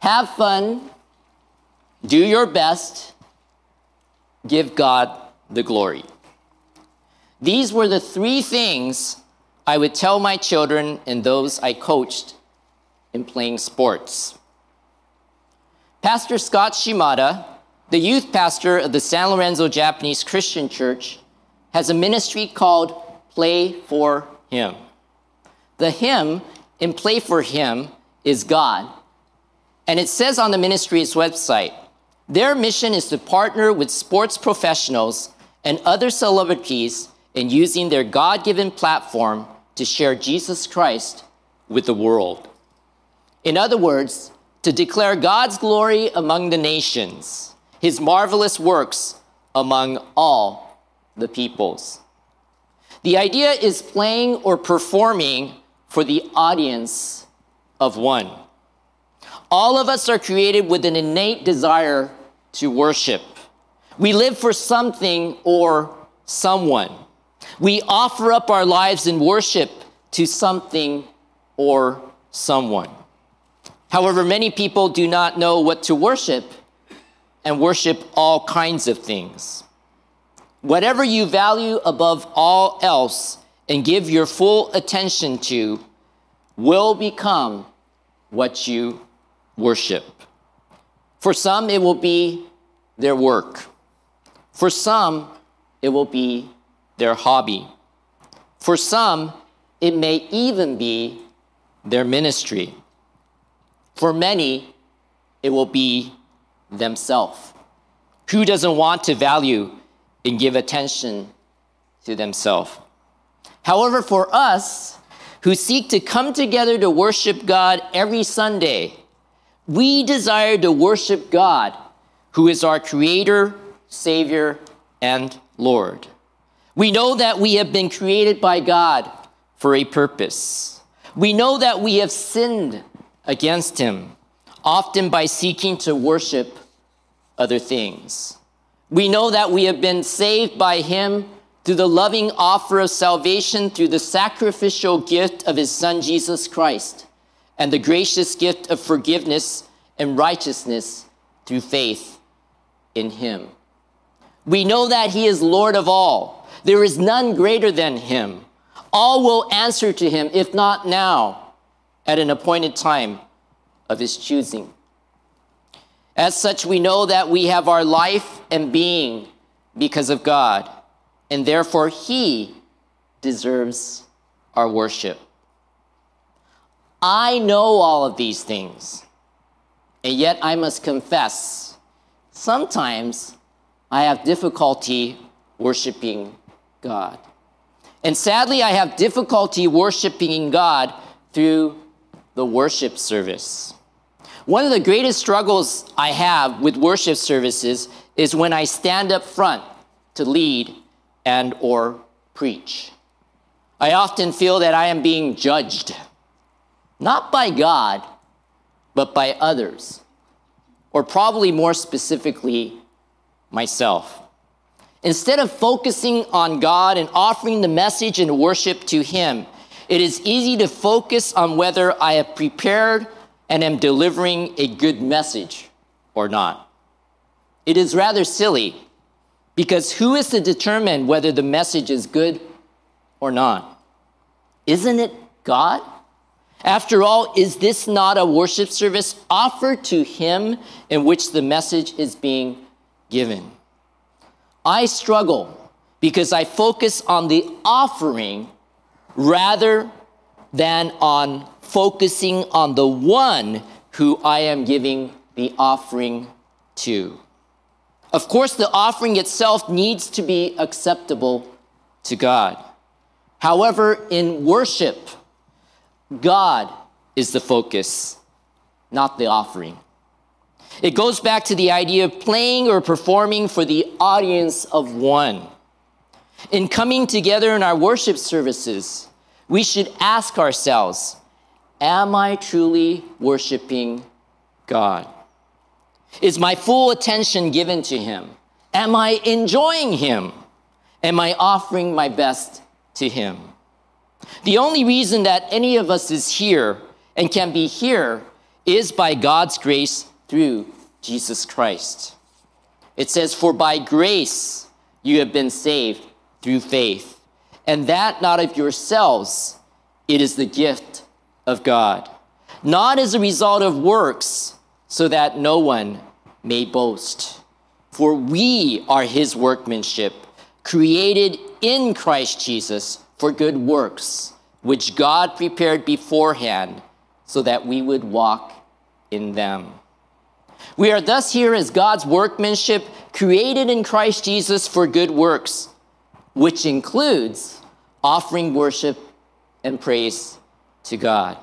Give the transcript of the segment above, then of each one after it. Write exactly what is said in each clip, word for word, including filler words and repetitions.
Have fun, do your best, give God the glory. These were the three things I would tell my children and those I coached in playing sports. Pastor Scott Shimada, the youth pastor of the San Lorenzo Japanese Christian Church, has a ministry called Play for Him. The hymn in Play for Him is God. And it says on the ministry's website, their mission is to partner with sports professionals and other celebrities in using their God-given platform to share Jesus Christ with the world. In other words, to declare God's glory among the nations, His marvelous works among all the peoples. The idea is playing or performing for the audience of one. All of us are created with an innate desire to worship. We live for something or someone. We offer up our lives in worship to something or someone. However, many people do not know what to worship and worship all kinds of things. Whatever you value above all else and give your full attention to will become what you worship. For some, it will be their work. For some, it will be their hobby. For some, it may even be their ministry. For many, it will be themselves. Who doesn't want to value and give attention to themselves? However, for us who seek to come together to worship God every Sunday, we desire to worship God, who is our Creator, Savior, and Lord. We know that we have been created by God for a purpose. We know that we have sinned against Him, often by seeking to worship other things. We know that we have been saved by Him through the loving offer of salvation through the sacrificial gift of His Son, Jesus Christ, and the gracious gift of forgiveness and righteousness through faith in Him. We know that He is Lord of all. There is none greater than Him. All will answer to Him, if not now, at an appointed time of His choosing. As such, we know that we have our life and being because of God, and therefore He deserves our worship. I know all of these things, and yet I must confess, sometimes I have difficulty worshiping God. And sadly, I have difficulty worshiping God through the worship service. One of the greatest struggles I have with worship services is when I stand up front to lead and or preach. I often feel that I am being judged, not by God, but by others, or probably more specifically, myself. Instead of focusing on God and offering the message and worship to Him, it is easy to focus on whether I have prepared and am delivering a good message or not. It is rather silly, because who is to determine whether the message is good or not? Isn't it God? After all, is this not a worship service offered to Him in which the message is being given? I struggle because I focus on the offering rather than on focusing on the one who I am giving the offering to. Of course, the offering itself needs to be acceptable to God. However, in worship, God is the focus, not the offering. It goes back to the idea of playing or performing for the audience of one. In coming together in our worship services, we should ask ourselves, am I truly worshiping God? Is my full attention given to Him? Am I enjoying Him? Am I offering my best to Him? The only reason that any of us is here and can be here is by God's grace through Jesus Christ. It says, for by grace you have been saved through faith, and that not of yourselves, it is the gift of God, not as a result of works, so that no one may boast. For we are his workmanship, created in Christ Jesus for good works, which God prepared beforehand so that we would walk in them. We are thus here as God's workmanship, created in Christ Jesus for good works, which includes offering worship and praise to God.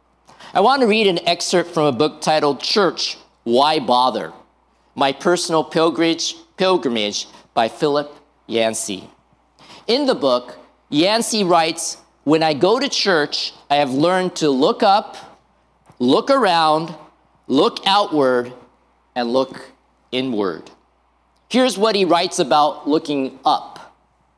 I want to read an excerpt from a book titled Church, Why Bother? My Personal Pilgrimage, Pilgrimage by Philip Yancey. In the book, Yancey writes, when I go to church, I have learned to look up, look around, look outward, and look inward. Here's what he writes about looking up.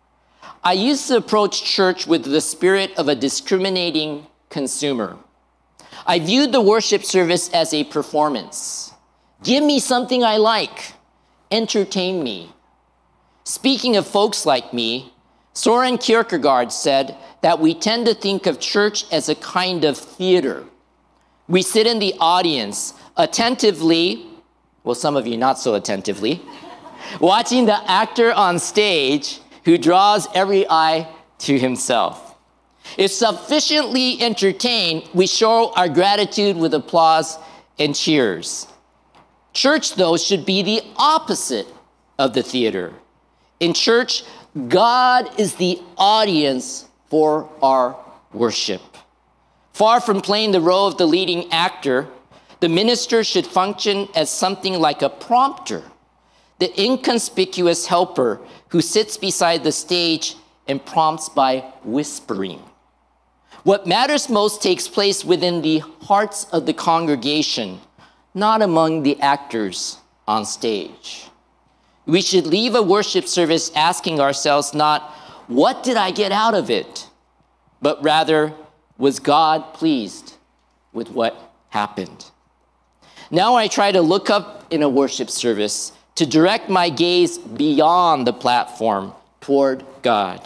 I used to approach church with the spirit of a discriminating consumer. I viewed the worship service as a performance. Give me something I like. Entertain me. Speaking of folks like me, Soren Kierkegaard said that we tend to think of church as a kind of theater. We sit in the audience attentively, well, some of you not so attentively, watching the actor on stage who draws every eye to himself. If sufficiently entertained, we show our gratitude with applause and cheers. Church, though, should be the opposite of the theater. In church, God is the audience for our worship. Far from playing the role of the leading actor, the minister should function as something like a prompter, the inconspicuous helper who sits beside the stage and prompts by whispering. What matters most takes place within the hearts of the congregation, not among the actors on stage. We should leave a worship service asking ourselves not, what did I get out of it? But rather, was God pleased with what happened? Now I try to look up in a worship service to direct my gaze beyond the platform toward God.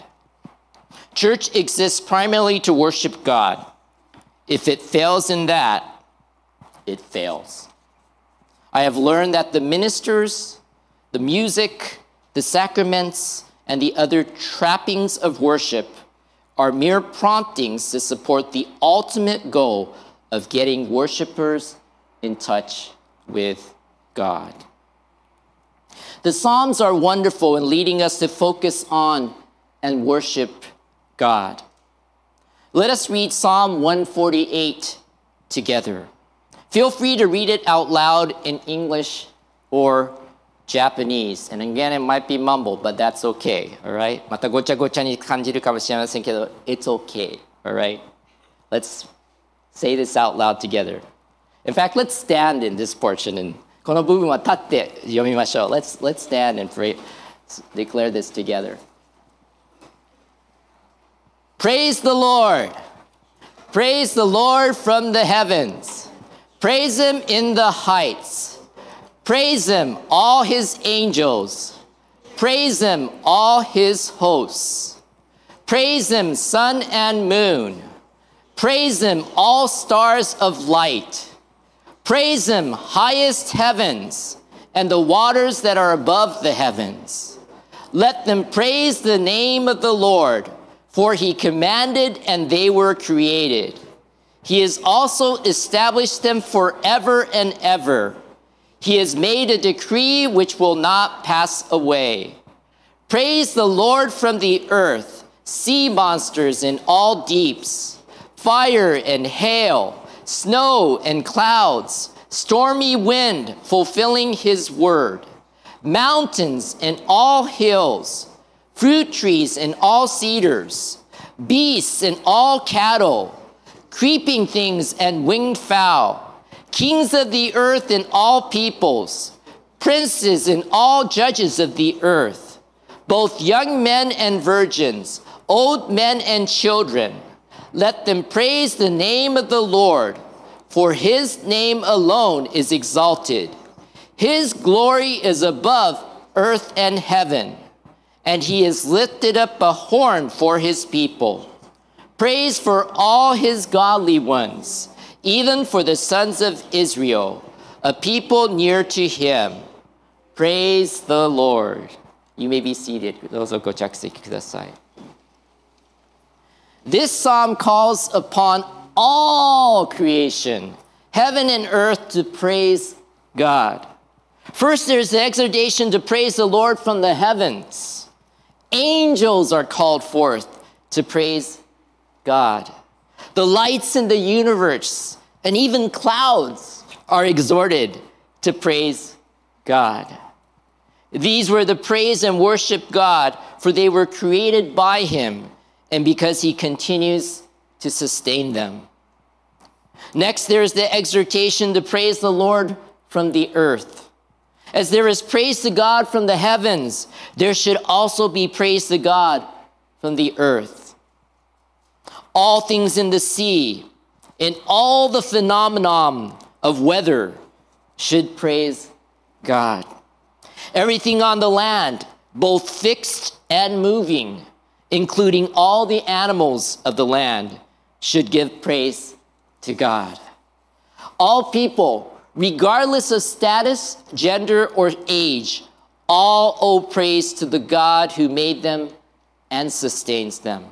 Church exists primarily to worship God. If it fails in that, it fails. I have learned that the ministers, the music, the sacraments, and the other trappings of worship are mere promptings to support the ultimate goal of getting worshipers in touch with God. The Psalms are wonderful in leading us to focus on and worship God. Let us read Psalm one forty-eight together. Feel free to read it out loud in English or Japanese. And again, it might be mumbled, but that's okay, all right? またごちゃごちゃに感じるかもしれませんけど、it's okay, all right? Let's say this out loud together. In fact, let's stand in this portion, and この部分は立って読みましょう. Let's, let's stand and pray, declare this together. Praise the Lord. Praise the Lord from the heavens. Praise him in the heights. Praise him, all his angels. Praise him, all his hosts. Praise him, sun and moon. Praise him, all stars of light. Praise him, highest heavens, and the waters that are above the heavens. Let them praise the name of the Lord, for he commanded and they were created. He has also established them forever and ever. He has made a decree which will not pass away. Praise the Lord from the earth, sea monsters in all deeps, fire and hail, snow and clouds, stormy wind fulfilling his word, mountains and all hills, fruit trees and all cedars, beasts and all cattle, creeping things and winged fowl, kings of the earth and all peoples, princes and all judges of the earth, both young men and virgins, old men and children. Let them praise the name of the Lord, for his name alone is exalted. His glory is above earth and heaven, and he has lifted up a horn for his people. Praise for all his godly ones, even for the sons of Israel, a people near to him. Praise the Lord. You may be seated. どうぞご着席ください。This psalm calls upon all creation, heaven and earth, to praise God. First, there's the exhortation to praise the Lord from the heavens. Angels are called forth to praise God. The lights in the universe and even clouds are exhorted to praise God. These were the praise and worship God, for they were created by him, and because he continues to sustain them. Next, there's the exhortation to praise the Lord from the earth. As there is praise to God from the heavens, there should also be praise to God from the earth. All things in the sea and all the phenomenon of weather should praise God. Everything on the land, both fixed and moving, including all the animals of the land, should give praise to God. All people, regardless of status, gender, or age, all owe praise to the God who made them and sustains them.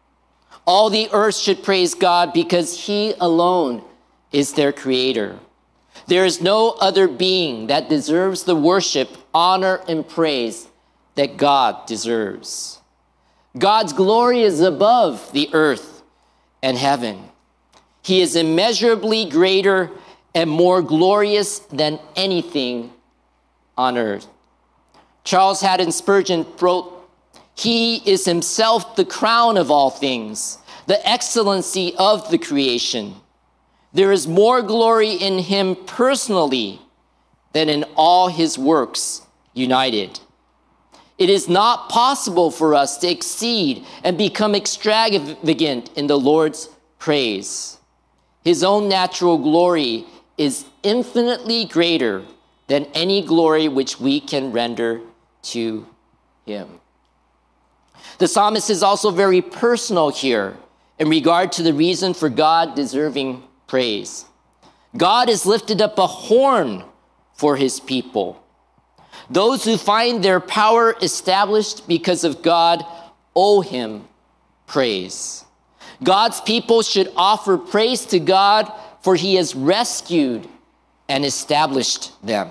All the earth should praise God because he alone is their creator. There is no other being that deserves the worship, honor, and praise that God deserves. God's glory is above the earth and heaven. He is immeasurably greater and more glorious than anything on earth. Charles Haddon Spurgeon wrote, "He is himself the crown of all things, the excellency of the creation. There is more glory in him personally than in all his works united. It is not possible for us to exceed and become extravagant in the Lord's praise. His own natural glory is infinitely greater than any glory which we can render to him." The psalmist is also very personal here in regard to the reason for God deserving praise. God has lifted up a horn for his people. Those who find their power established because of God owe him praise. God's people should offer praise to God, for he has rescued and established them.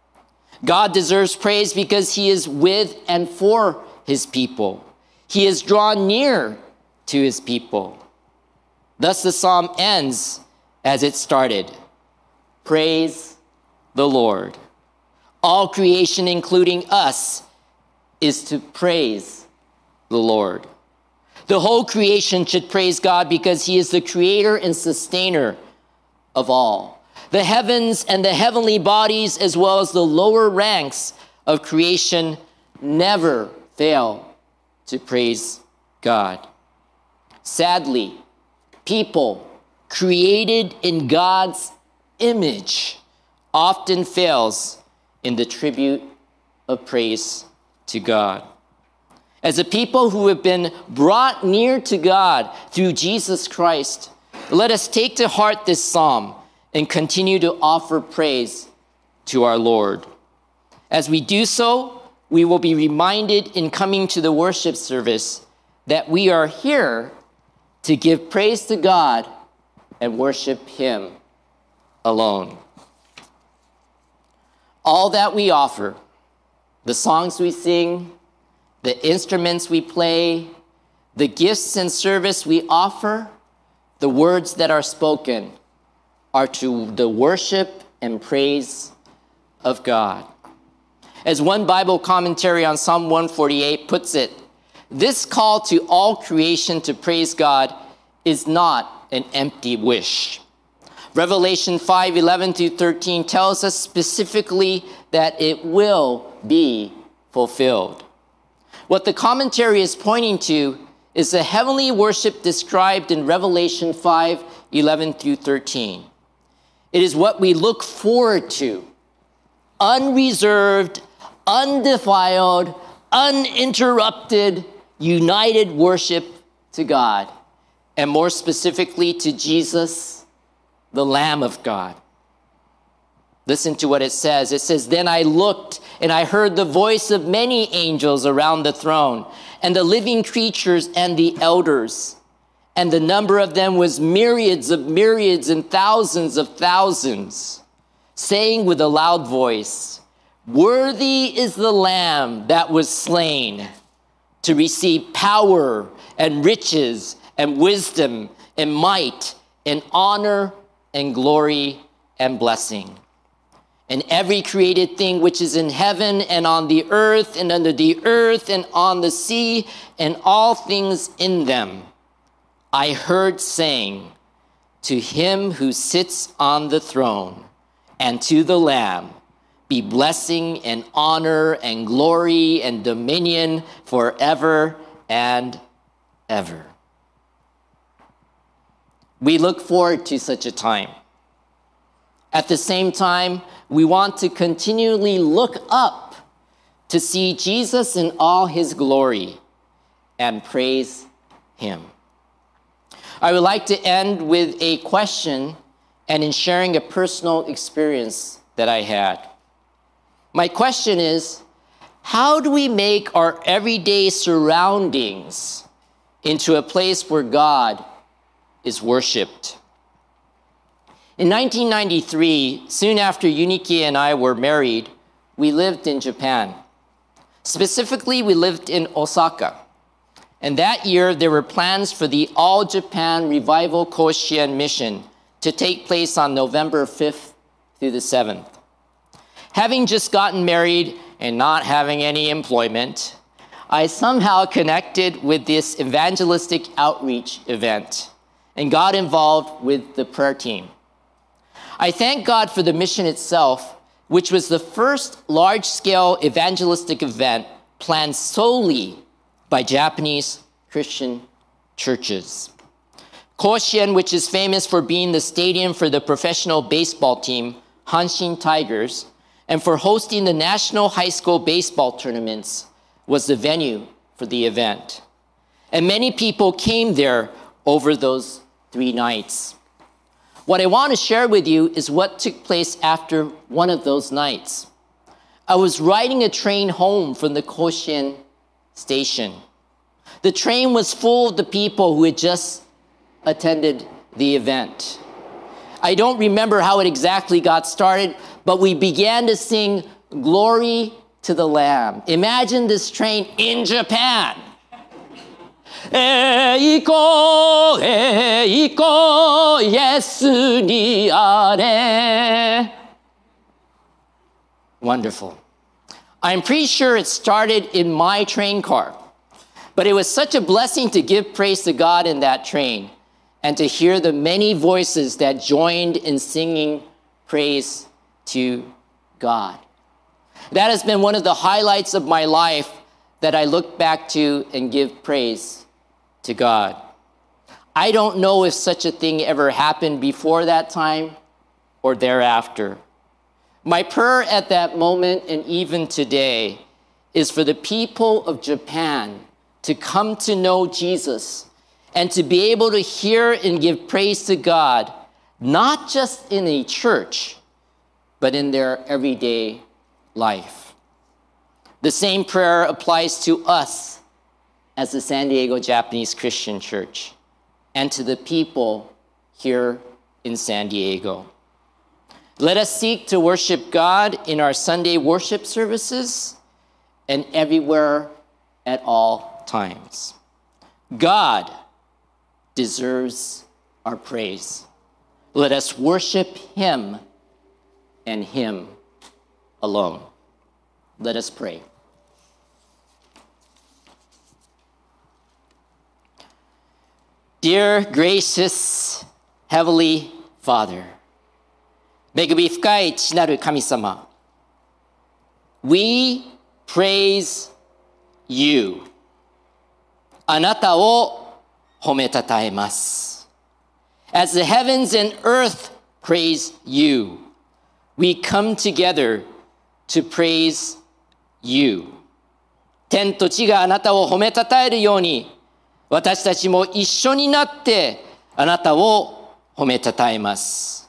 God deserves praise because he is with and for his people. He has drawn near to his people. Thus the psalm ends as it started. Praise the Lord. All creation, including us, is to praise the Lord. The whole creation should praise God because he is the creator and sustainer of all. The heavens and the heavenly bodies, as well as the lower ranks of creation, never fail to praise God. Sadly, people created in God's image often fails in the tribute of praise to God. As a people who have been brought near to God through Jesus Christ, let us take to heart this psalm and continue to offer praise to our Lord. As we do so, we will be reminded in coming to the worship service that we are here to give praise to God and worship him alone. All that we offer, the songs we sing, the instruments we play, the gifts and service we offer, the words that are spoken, are to the worship and praise of God. As one Bible commentary on Psalm one forty-eight puts it, this call to all creation to praise God is not an empty wish. Revelation five eleven through thirteen tells us specifically that it will be fulfilled. What the commentary is pointing to is the heavenly worship described in Revelation five eleven through thirteen. It is what we look forward to. Unreserved, undefiled, uninterrupted, united worship to God, and more specifically to Jesus, the Lamb of God. Listen to what it says. It says, "Then I looked, and I heard the voice of many angels around the throne, and the living creatures and the elders. And the number of them was myriads of myriads and thousands of thousands, saying with a loud voice, 'Worthy is the Lamb that was slain to receive power and riches and wisdom and might and honor and glory and blessing.' And every created thing which is in heaven and on the earth and under the earth and on the sea and all things in them, I heard saying, 'To him who sits on the throne and to the Lamb be blessing and honor and glory and dominion forever and ever.'" We look forward to such a time. At the same time, we want to continually look up to see Jesus in all his glory and praise him. I would like to end with a question and in sharing a personal experience that I had. My question is, how do we make our everyday surroundings into a place where God is worshiped? In nineteen ninety-three, soon after Yuniki and I were married, we lived in Japan. Specifically, we lived in Osaka. And that year, there were plans for the All Japan Revival Koshien mission to take place on November fifth through the seventh. Having just gotten married and not having any employment, I somehow connected with this evangelistic outreach event and got involved with the prayer team. I thank God for the mission itself, which was the first large-scale evangelistic event planned solely by Japanese Christian churches. Koshien, which is famous for being the stadium for the professional baseball team, Hanshin Tigers, and for hosting the national high school baseball tournaments, was the venue for the event. And many people came there over those three nights. What I want to share with you is what took place after one of those nights. I was riding a train home from the Koshien station. The train was full of the people who had just attended the event. I don't remember how it exactly got started, but we began to sing "Glory to the Lamb." Imagine this train in Japan. Eiko, eiko, Yesu ni are. Wonderful. I'm pretty sure it started in my train car, but it was such a blessing to give praise to God in that train and to hear the many voices that joined in singing praise to God. That has been one of the highlights of my life that I look back to and give praise to God. I don't know if such a thing ever happened before that time or thereafter. My prayer at that moment and even today is for the people of Japan to come to know Jesus and to be able to hear and give praise to God, not just in a church, but in their everyday life. The same prayer applies to us as the San Diego Japanese Christian Church and to the people here in San Diego. Let us seek to worship God in our Sunday worship services and everywhere at all times. God deserves our praise. Let us worship him and him alone. Let us pray. Dear gracious Heavenly Father, 恵み深い父なる神様、We praise you. あなたを褒めたたえます。As the heavens and earth praise you. We come together to praise you. 天と地があなたを褒めたたえるように、私たちも一緒になってあなたを褒めたたえます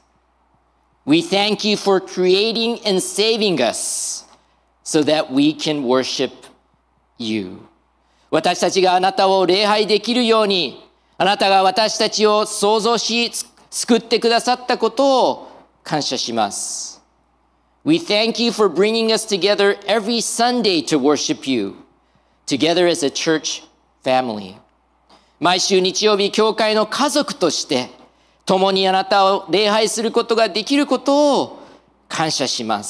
。We thank you for creating and saving us so that we can worship you. 私たちがあなたを礼拝できるように、あなたが私たちを創造し救ってくださったことを感謝します。We thank you for bringing us together every Sunday to worship you, together as a church family. 毎週日曜日、教会の家族として、共にあなたを礼拝することができることを感謝します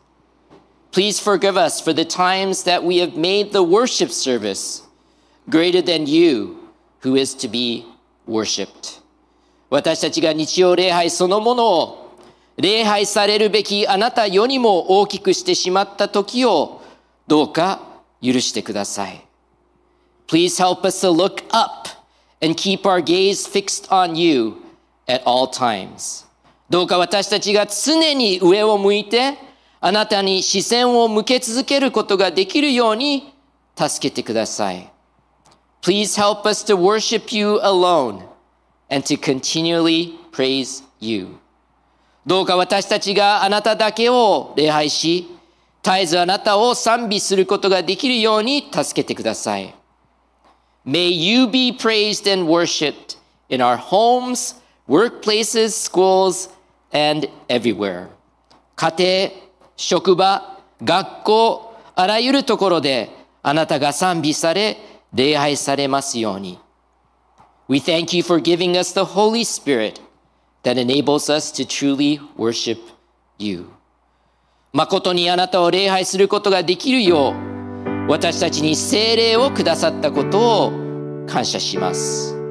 。Please forgive us for the times that we have made the worship service greater than you who is to be worshipped. 私たちが日曜礼拝そのものを礼拝されるべきあなたよりも大きくしてしまった時をどうか許してください。Please help us to look up and keep our gaze fixed on you at all times. どうか私たちが常に上を向いてあなたに視線を向け続けることができるように助けてください。Please help us to worship you alone and to continually praise you. どうか私たちがあなただけを礼拝し、絶えずあなたを賛美することができるように助けてください。May you be praised and worshipped in our homes, workplaces, schools, and everywhere. 家庭、職場、学校、あらゆるところであなたが賛美され、礼拝されますように。We thank you for giving us the Holy Spirit that enables us to truly worship you. 誠にあなたを礼拝することができるよう、私たちに聖霊をくださったことを感謝します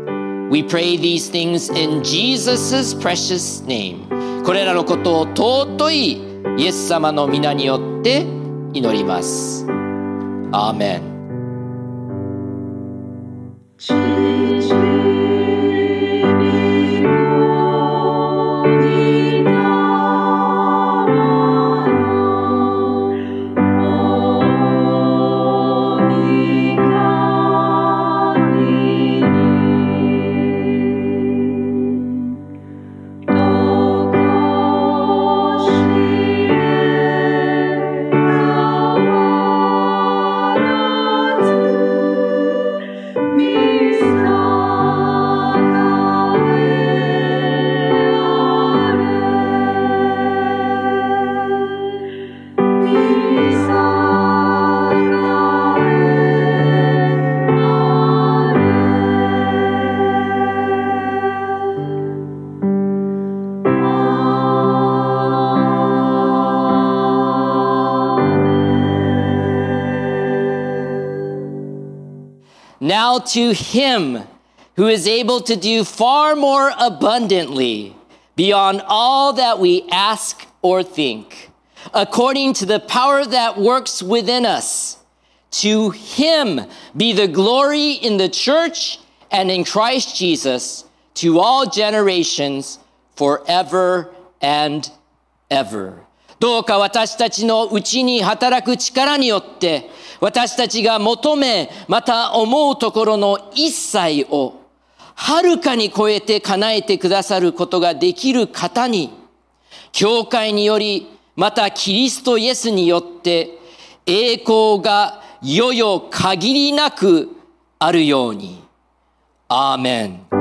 。We pray these things in Jesus' precious name. これらのことを尊いイエス様の皆によって祈ります。アーメン。Now to him who is able to do far more abundantly beyond all that we ask or think, according to the power that works within us, to him be the glory in the church and in Christ Jesus to all generations forever and ever. どうか私たちのうちに働く力によって私たちが求めまた思うところの一切をはるかに超えて叶えてくださることができる方に教会によりまたキリストイエスによって栄光が世々限りなくあるように。アーメン。